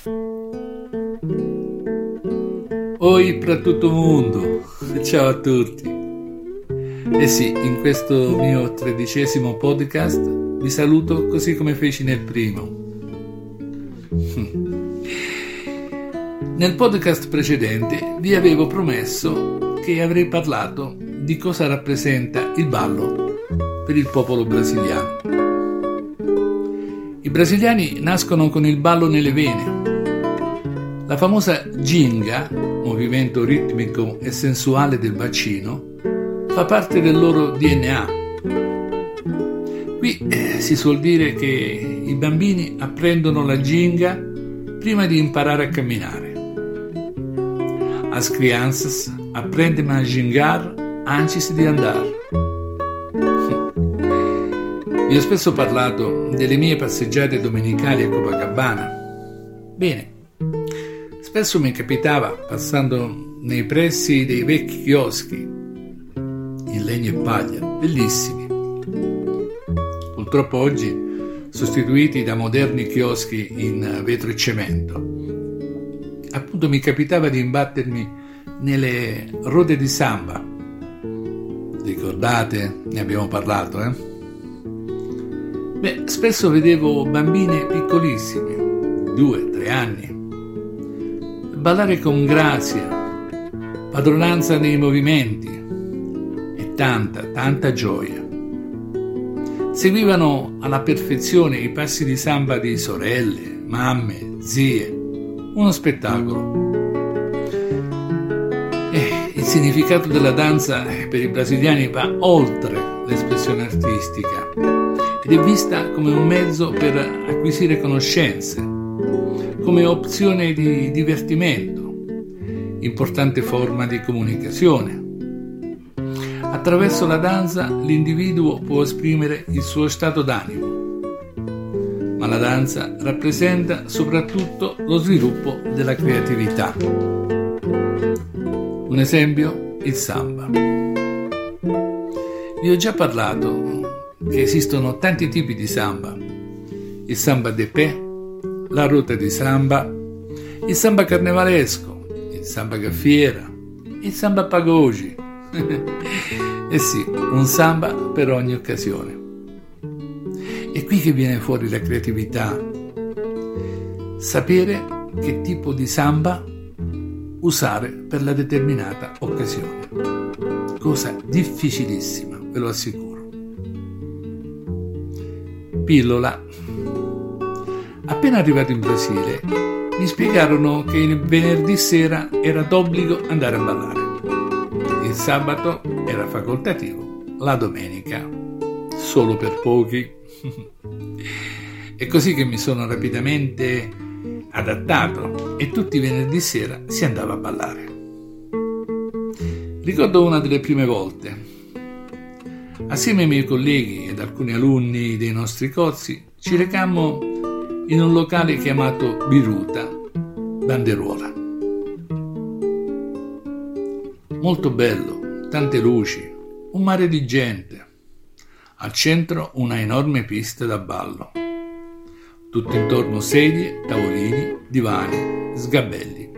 Oi per tutto il mondo, ciao a tutti. Eh sì, in questo mio 13° podcast vi saluto così come feci nel primo. Nel podcast precedente vi avevo promesso che avrei parlato di cosa rappresenta il ballo per il popolo brasiliano. I brasiliani nascono con il ballo nelle vene. La famosa ginga, movimento ritmico e sensuale del bacino, fa parte del loro DNA. Qui si suol dire che i bambini apprendono la ginga prima di imparare a camminare. As crianças aprendem a gingar antes di andare. Vi ho spesso parlato delle mie passeggiate domenicali a Copacabana. Bene, spesso mi capitava, passando nei pressi dei vecchi chioschi, in legno e paglia, bellissimi, purtroppo oggi sostituiti da moderni chioschi in vetro e cemento. Appunto mi capitava di imbattermi nelle rode di samba. Ricordate? Ne abbiamo parlato, spesso vedevo bambine piccolissime, 2-3 anni, ballare con grazia, padronanza nei movimenti e tanta gioia. Seguivano alla perfezione i passi di samba di sorelle, mamme, zie, uno spettacolo. Il significato della danza per i brasiliani va oltre l'espressione artistica ed è vista come un mezzo per acquisire conoscenze, come opzione di divertimento, importante forma di comunicazione. Attraverso la danza l'individuo può esprimere il suo stato d'animo, ma la danza rappresenta soprattutto lo sviluppo della creatività. Un esempio, il samba. Vi ho già parlato che esistono tanti tipi di samba: il samba de pé, la ruota di samba, il samba carnevalesco, il samba gaffiera, il samba pagode. Eh sì, un samba per ogni occasione. È qui che viene fuori la creatività. Sapere che tipo di samba usare per la determinata occasione. Cosa difficilissima, ve lo assicuro. Pillola. Appena arrivato in Brasile, mi spiegarono che il venerdì sera era d'obbligo andare a ballare. Il sabato era facoltativo, la domenica solo per pochi. È così che mi sono rapidamente adattato e tutti i venerdì sera si andava a ballare. Ricordo una delle prime volte. Assieme ai miei colleghi ed alcuni alunni dei nostri corsi ci recammo in un locale chiamato Biruta, Banderuola. Molto bello, tante luci, un mare di gente. Al centro una enorme pista da ballo. Tutto intorno sedie, tavolini, divani, sgabelli.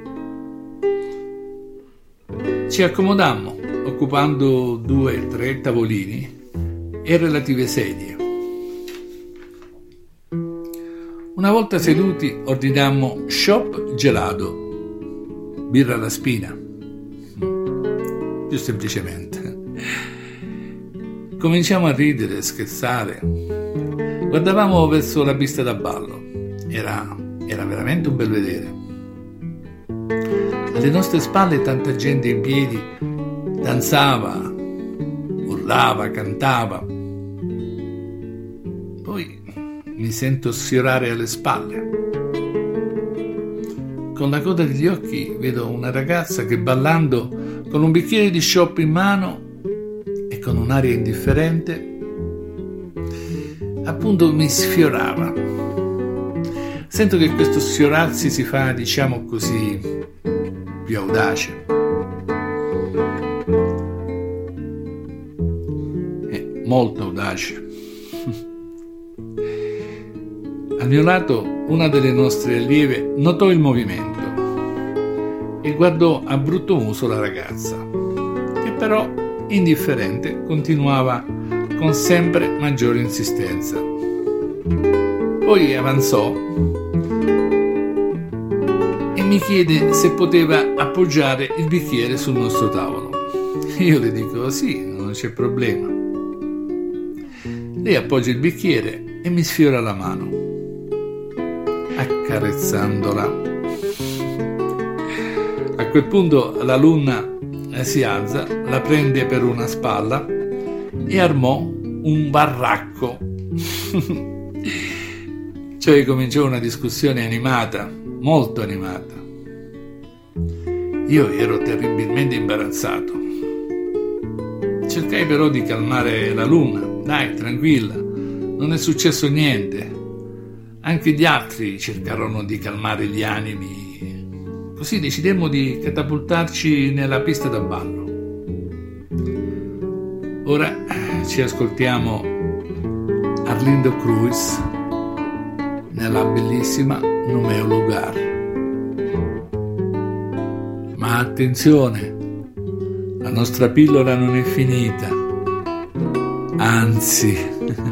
Ci accomodammo, occupando 2-3 tavolini e relative sedie. Una volta seduti ordinammo shop gelato, birra alla spina, più semplicemente. Cominciamo a ridere, scherzare. Guardavamo verso la pista da ballo. Era veramente un bel vedere. Alle nostre spalle tanta gente in piedi danzava, urlava, cantava. Poi mi sento sfiorare alle spalle. Con la coda degli occhi vedo una ragazza che ballando con un bicchiere di shop in mano e con un'aria indifferente appunto mi sfiorava. Sento che questo sfiorarsi si fa, diciamo così, più audace. Molto audace. Al mio lato una delle nostre allieve notò il movimento e guardò a brutto muso la ragazza, che però, indifferente, continuava con sempre maggiore insistenza. Poi avanzò e mi chiede se poteva appoggiare il bicchiere sul nostro tavolo. Io le dico sì, non c'è problema. Lei appoggia il bicchiere e mi sfiora la mano, accarezzandola. A quel punto l'alunna si alza, la prende per una spalla e armò un baracco. Cioè cominciò una discussione animata, molto animata. Io ero terribilmente imbarazzato. Cercai però di calmare l'alunna. Dai, tranquilla, non è successo niente. Anche gli altri cercarono di calmare gli animi. Così decidemmo di catapultarci nella pista da ballo. Ora ci ascoltiamo Arlindo Cruz nella bellissima No Meu Lugar. Ma attenzione, la nostra pillola non è finita, anzi.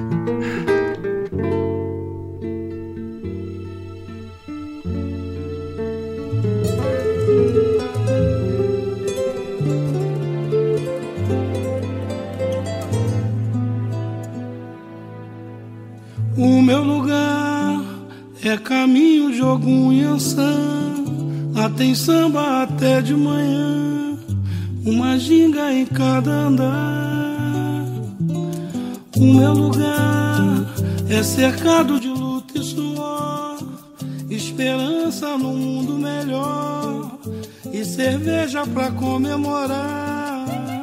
O meu lugar é caminho de Ogum e Ançã. Lá tem samba até de manhã, uma ginga em cada andar. O meu lugar é cercado de luta e suor, esperança num mundo melhor e cerveja pra comemorar.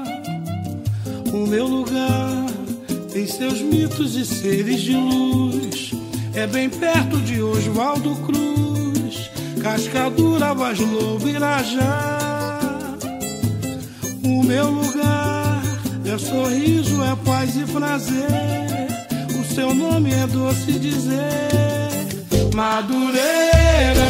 O meu lugar tem seus mitos e seres de luz, é bem perto de Oswaldo Cruz, Cascadura, Vaz Lobo, Irajá. O meu lugar é sorriso, é paz e prazer, o seu nome é doce dizer, Madureira.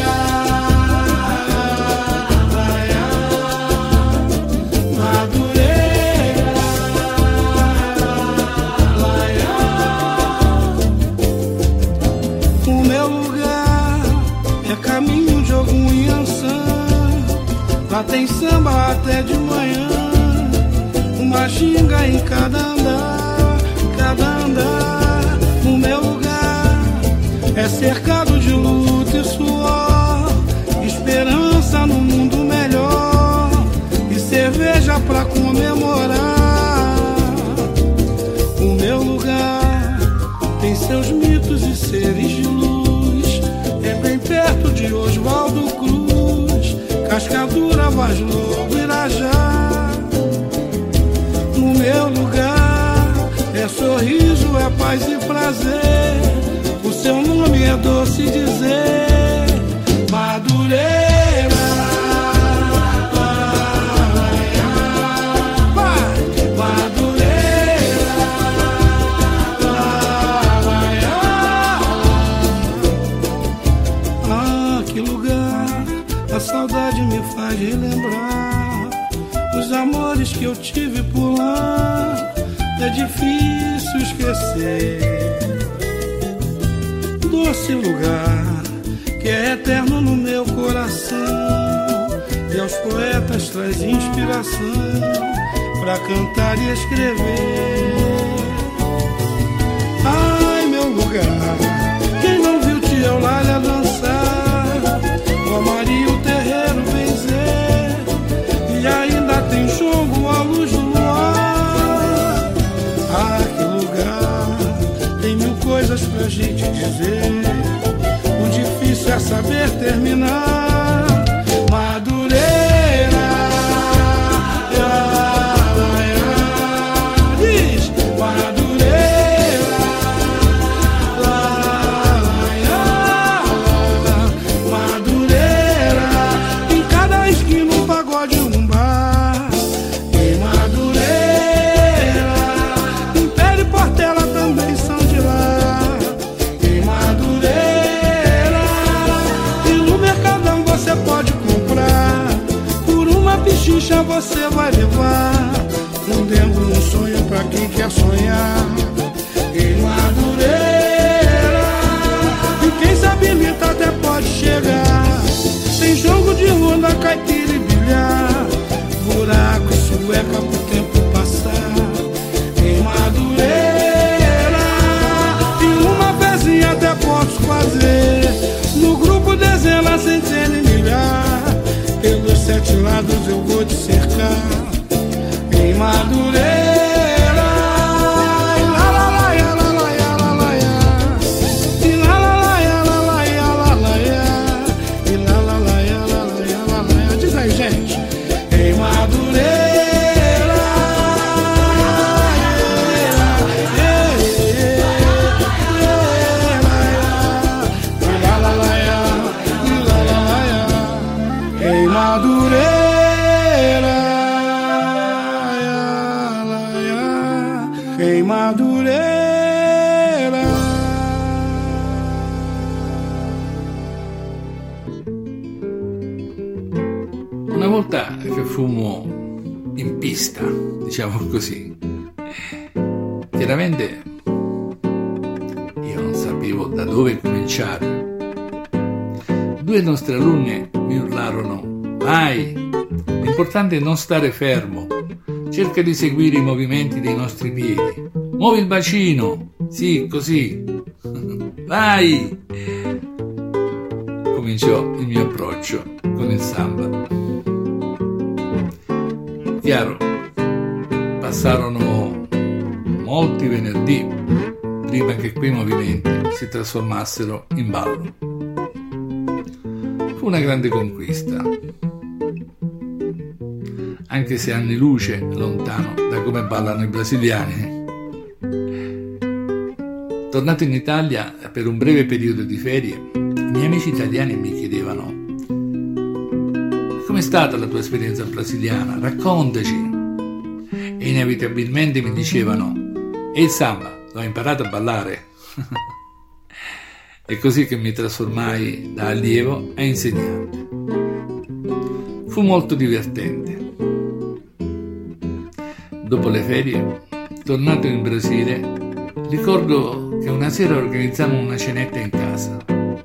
Lá tem samba até de manhã, uma ginga em cada andar, cada andar. O meu lugar é cercado de luta e suor, esperança no mundo melhor e cerveja pra comemorar. O meu lugar tem seus mitos e seres de luz, é bem perto de Oswaldo Cruz, Cascadura, Vaz Lobo, Irajá. No meu lugar é sorriso, é paz e prazer, o seu nome é doce dizer, Madureira. A saudade me faz relembrar os amores que eu tive por lá. É difícil esquecer doce lugar que é eterno no meu coração, e aos poetas traz inspiração pra cantar e escrever. Ai, meu lugar, quem não viu Tia Eulália dançar, com a Maria o terreiro benzer, e ainda tem jogo à luz do luar. Ah, que lugar, tem mil coisas pra gente dizer, o difícil é saber terminar. Madureira, diz Madureira, Madureira, em cada esquina um pagode, um bar. Em Madureira, Império e Portela também são de lá. Em Madureira, salsicha você vai levar, rendendo um sonho pra quem quer sonhar. Em Madureira, e quem sabe imita até pode chegar. Tem jogo de ronda, caipira e bilhar, buraco e sueca pro tempo passar. Em Madureira, e uma pezinha até posso fazer. No grupo dezenas, centenas e milhar, pelos 7 lados eu vou te cercar. Em Madureira, Una volta che fummo in pista, diciamo così, chiaramente io non sapevo da dove cominciare. 2 nostre alunne mi urlarono: vai, l'importante è non stare fermo, cerca di seguire i movimenti dei nostri piedi, muovi il bacino, sì, così, vai. Cominciò il mio approccio con il samba. Chiaro, passarono molti venerdì prima che quei movimenti si trasformassero in ballo. Fu una grande conquista, anche se anni luce lontano da come ballano i brasiliani. Tornato in Italia per un breve periodo di ferie, i miei amici italiani mi chiedevano: com'è stata la tua esperienza brasiliana? Raccontaci. E inevitabilmente mi dicevano: e il samba, l'ho imparato a ballare. È così che mi trasformai da allievo a insegnante. Fu molto divertente. Dopo le ferie, tornato in Brasile, ricordo che una sera organizzammo una cenetta in casa.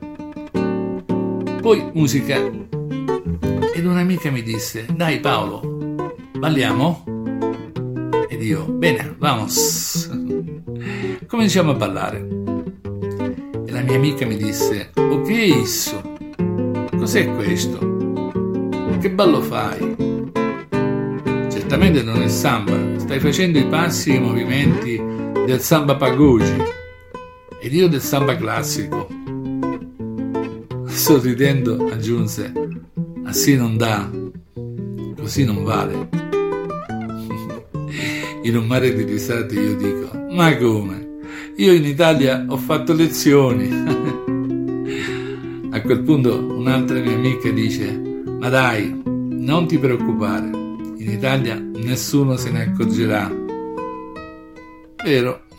Poi musica, ed un'amica mi disse: dai Paolo, balliamo? Ed io: bene, vamos. Cominciamo a ballare. E la mia amica mi disse: oh, che è isso? Cos'è questo? Che ballo fai? Certamente non è samba, stai facendo i passi e i movimenti del samba pagode ed io del samba classico. Sorridendo aggiunse: ah sì, non dà, così non vale. In un mare di risate io dico: ma come? Io in Italia ho fatto lezioni. A quel punto un'altra mia amica dice: ma dai, non ti preoccupare, in Italia nessuno se ne accorgerà. Vero?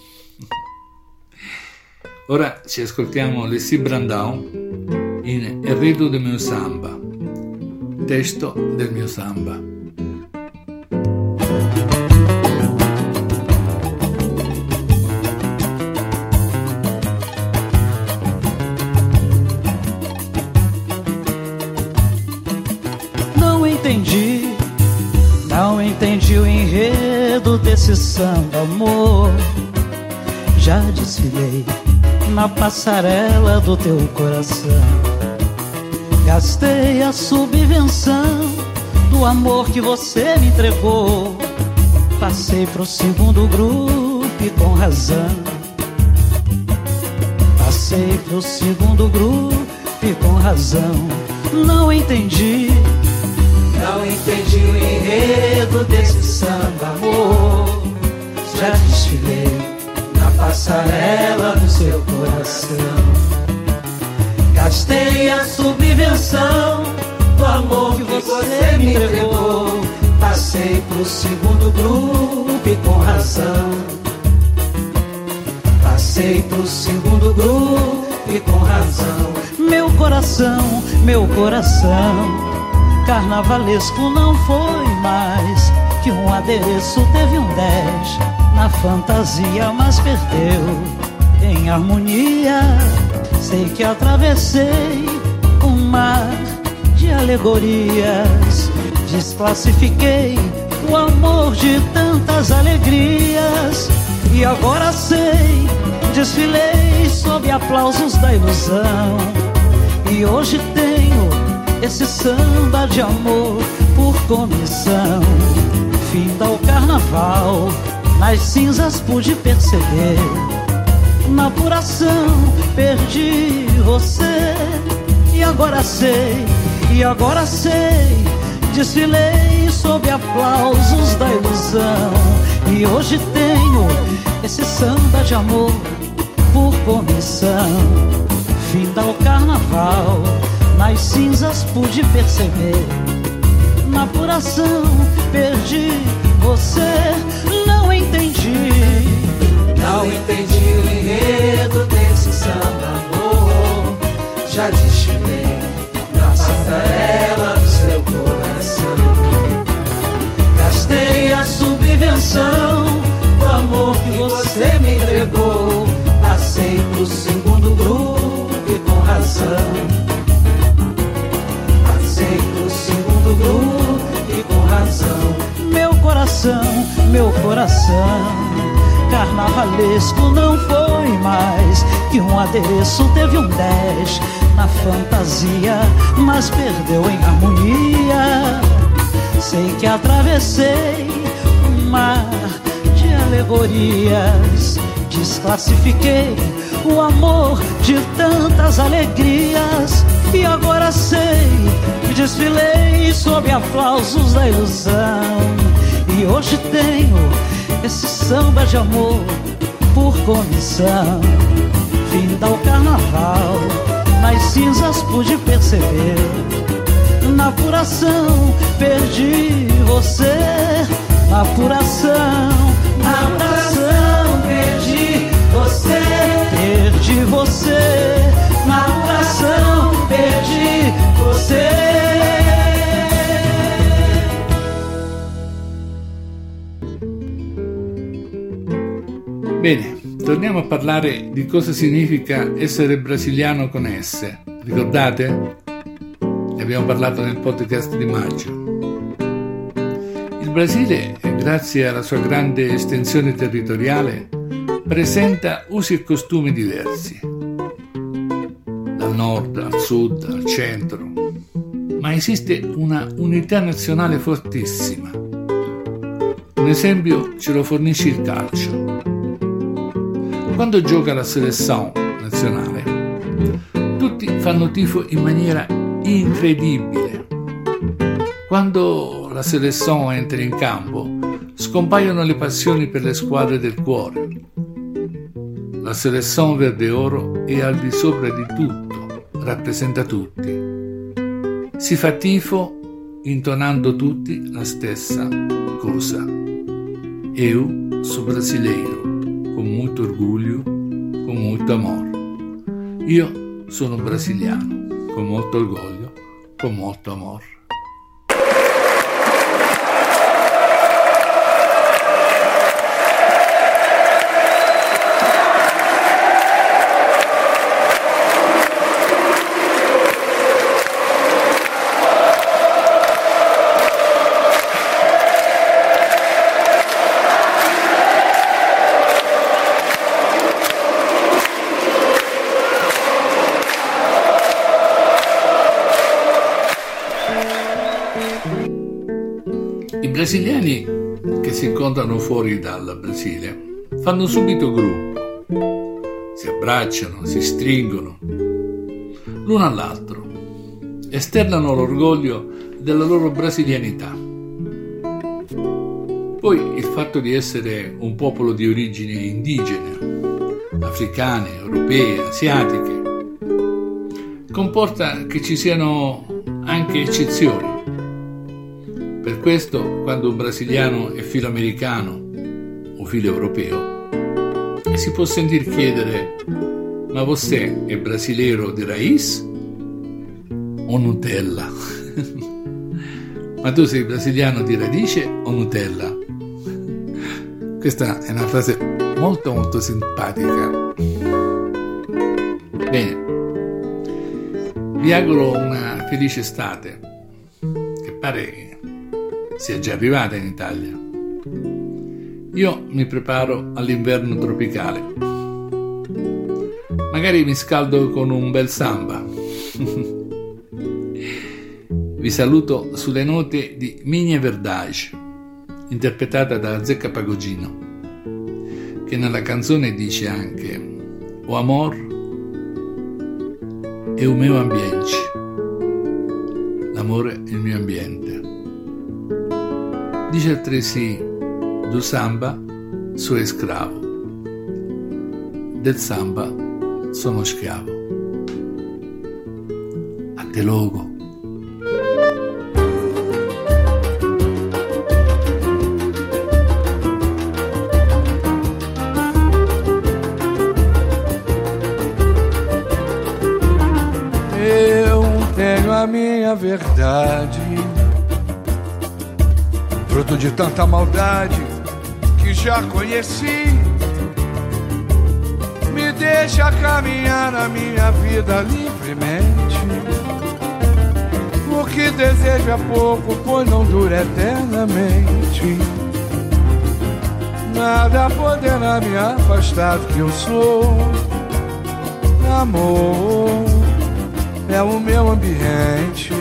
Ora ci ascoltiamo Leslie Brandão in Enredo del mio samba, testo del mio samba. Não entendi o enredo desse samba, amor. Já desfilei na passarela do teu coração, gastei a subvenção do amor que você me entregou. Passei pro segundo grupo e com razão. Passei pro segundo grupo e com razão. Não entendi o enredo desse samba, amor. Já desfilei na passarela do seu coração, gastei a subvenção do amor que você me entregou. Passei pro segundo grupo e com razão. Passei pro segundo grupo e com razão. Meu coração Carnavalesco não foi mais que um adereço, teve um 10 na fantasia, mas perdeu em harmonia. Sei que atravessei um mar de alegorias, desclassifiquei o amor de tantas alegrias. E agora sei, desfilei sob aplausos da ilusão. E hoje tenho esse samba de amor por comissão. Finda o carnaval, nas cinzas pude perceber. Na apuração perdi você. E agora sei, desfilei sob aplausos da ilusão. E hoje tenho esse samba de amor por comissão. Finda o carnaval, nas cinzas pude perceber. Na apuração perdi você. Não entendi o enredo desse samba, amor. Já desfilei na passarela do seu coração. Gastei a subvenção do amor que você me entregou. Passei pro segundo grupo e com razão. Passei pro segundo grupo e com razão. Meu coração carnavalesco não foi mais que um adereço, teve um 10 na fantasia, mas perdeu em harmonia. Sei que atravessei um mar de alegorias, desclassifiquei o amor de tantas alegrias. E agora sei, desfilei sob aplausos da ilusão. E hoje tenho esse samba de amor por comissão. Finda o carnaval, nas cinzas pude perceber. Na apuração perdi você. Na apuração perdi você. Perdi você. Na apuração perdi você. Bene, torniamo a parlare di cosa significa essere brasiliano con S. Ricordate? Ne abbiamo parlato nel podcast di maggio. Il Brasile, grazie alla sua grande estensione territoriale, presenta usi e costumi diversi, dal nord al sud al centro, ma esiste una unità nazionale fortissima. Un esempio ce lo fornisce il calcio. Quando gioca la selezione nazionale, tutti fanno tifo in maniera incredibile. Quando la selezione entra in campo, scompaiono le passioni per le squadre del cuore. La selezione verde oro è al di sopra di tutto, rappresenta tutti. Si fa tifo intonando tutti la stessa cosa. Eu sou brasileiro, con molto orgoglio, con molto amore. Io sono brasiliano, con molto orgoglio, con molto amore. I brasiliani che si incontrano fuori dal Brasile fanno subito gruppo, si abbracciano, si stringono l'uno all'altro, esternano l'orgoglio della loro brasilianità. Poi il fatto di essere un popolo di origini indigene, africane, europee, asiatiche, comporta che ci siano anche eccezioni. Per questo, quando un brasiliano è filo americano o filo europeo, si può sentir chiedere: ma você è brasileiro di raiz o Nutella? Ma tu sei brasiliano di radice o Nutella? Questa è una frase molto molto simpatica. Bene, vi auguro una felice estate, che pare che sia già arrivata in Italia. Io mi preparo all'inverno tropicale. Magari mi scaldo con un bel samba. Vi saluto sulle note di Minha Verdade, interpretata da Zeca Pagodino, che nella canzone dice anche: o amor è o meu ambiente. L'amore è il mio ambiente. Dice altresì: do samba sou escravo, del samba sono schiavo. Até logo. A minha verdade, fruto de tanta maldade que já conheci, me deixa caminhar na minha vida livremente. O que desejo é pouco, pois não dura eternamente. Nada poderá me afastar do que eu sou. Amor é o meu ambiente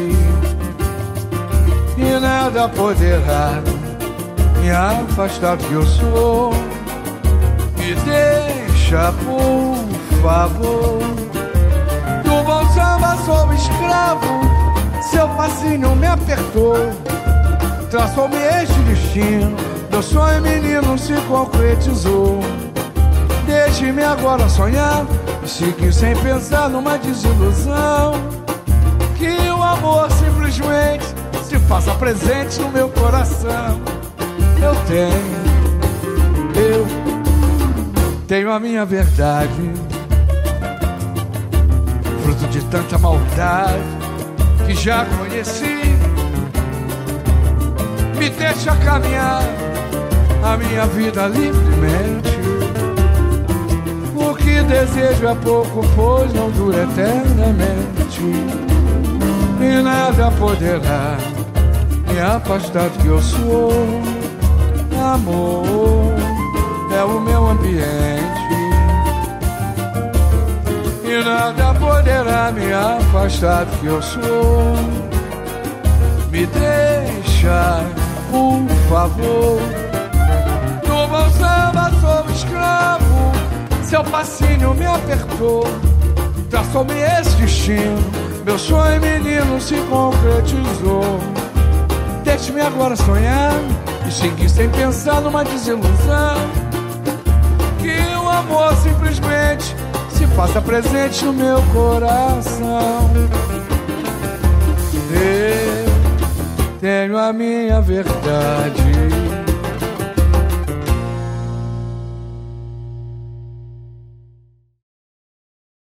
e nada poderá me afastar do que eu sou. Me deixa, por favor. Do bom samba sou escravo, seu passinho me apertou. Traçou-me este destino, meu sonho menino se concretizou. Deixe-me agora sonhar, seguir sem pensar numa desilusão. Que o amor simplesmente se faça presente no meu coração. Eu tenho a minha verdade, fruto de tanta maldade que já conheci. Me deixa caminhar a minha vida livremente. O que desejo é pouco, pois não dura eternamente. E nada poderá me afastar do que eu sou. Amor é o meu ambiente e nada poderá me afastar do que eu sou. Me deixa, por favor. No bom samba sou escravo, seu passinho me apertou. Traçou-me esse destino, meu sonho menino se concretizou. Deixe-me agora sonhar e seguir sem pensar numa desilusão. Que o amor simplesmente se faça presente no meu coração. Eu tenho a minha verdade,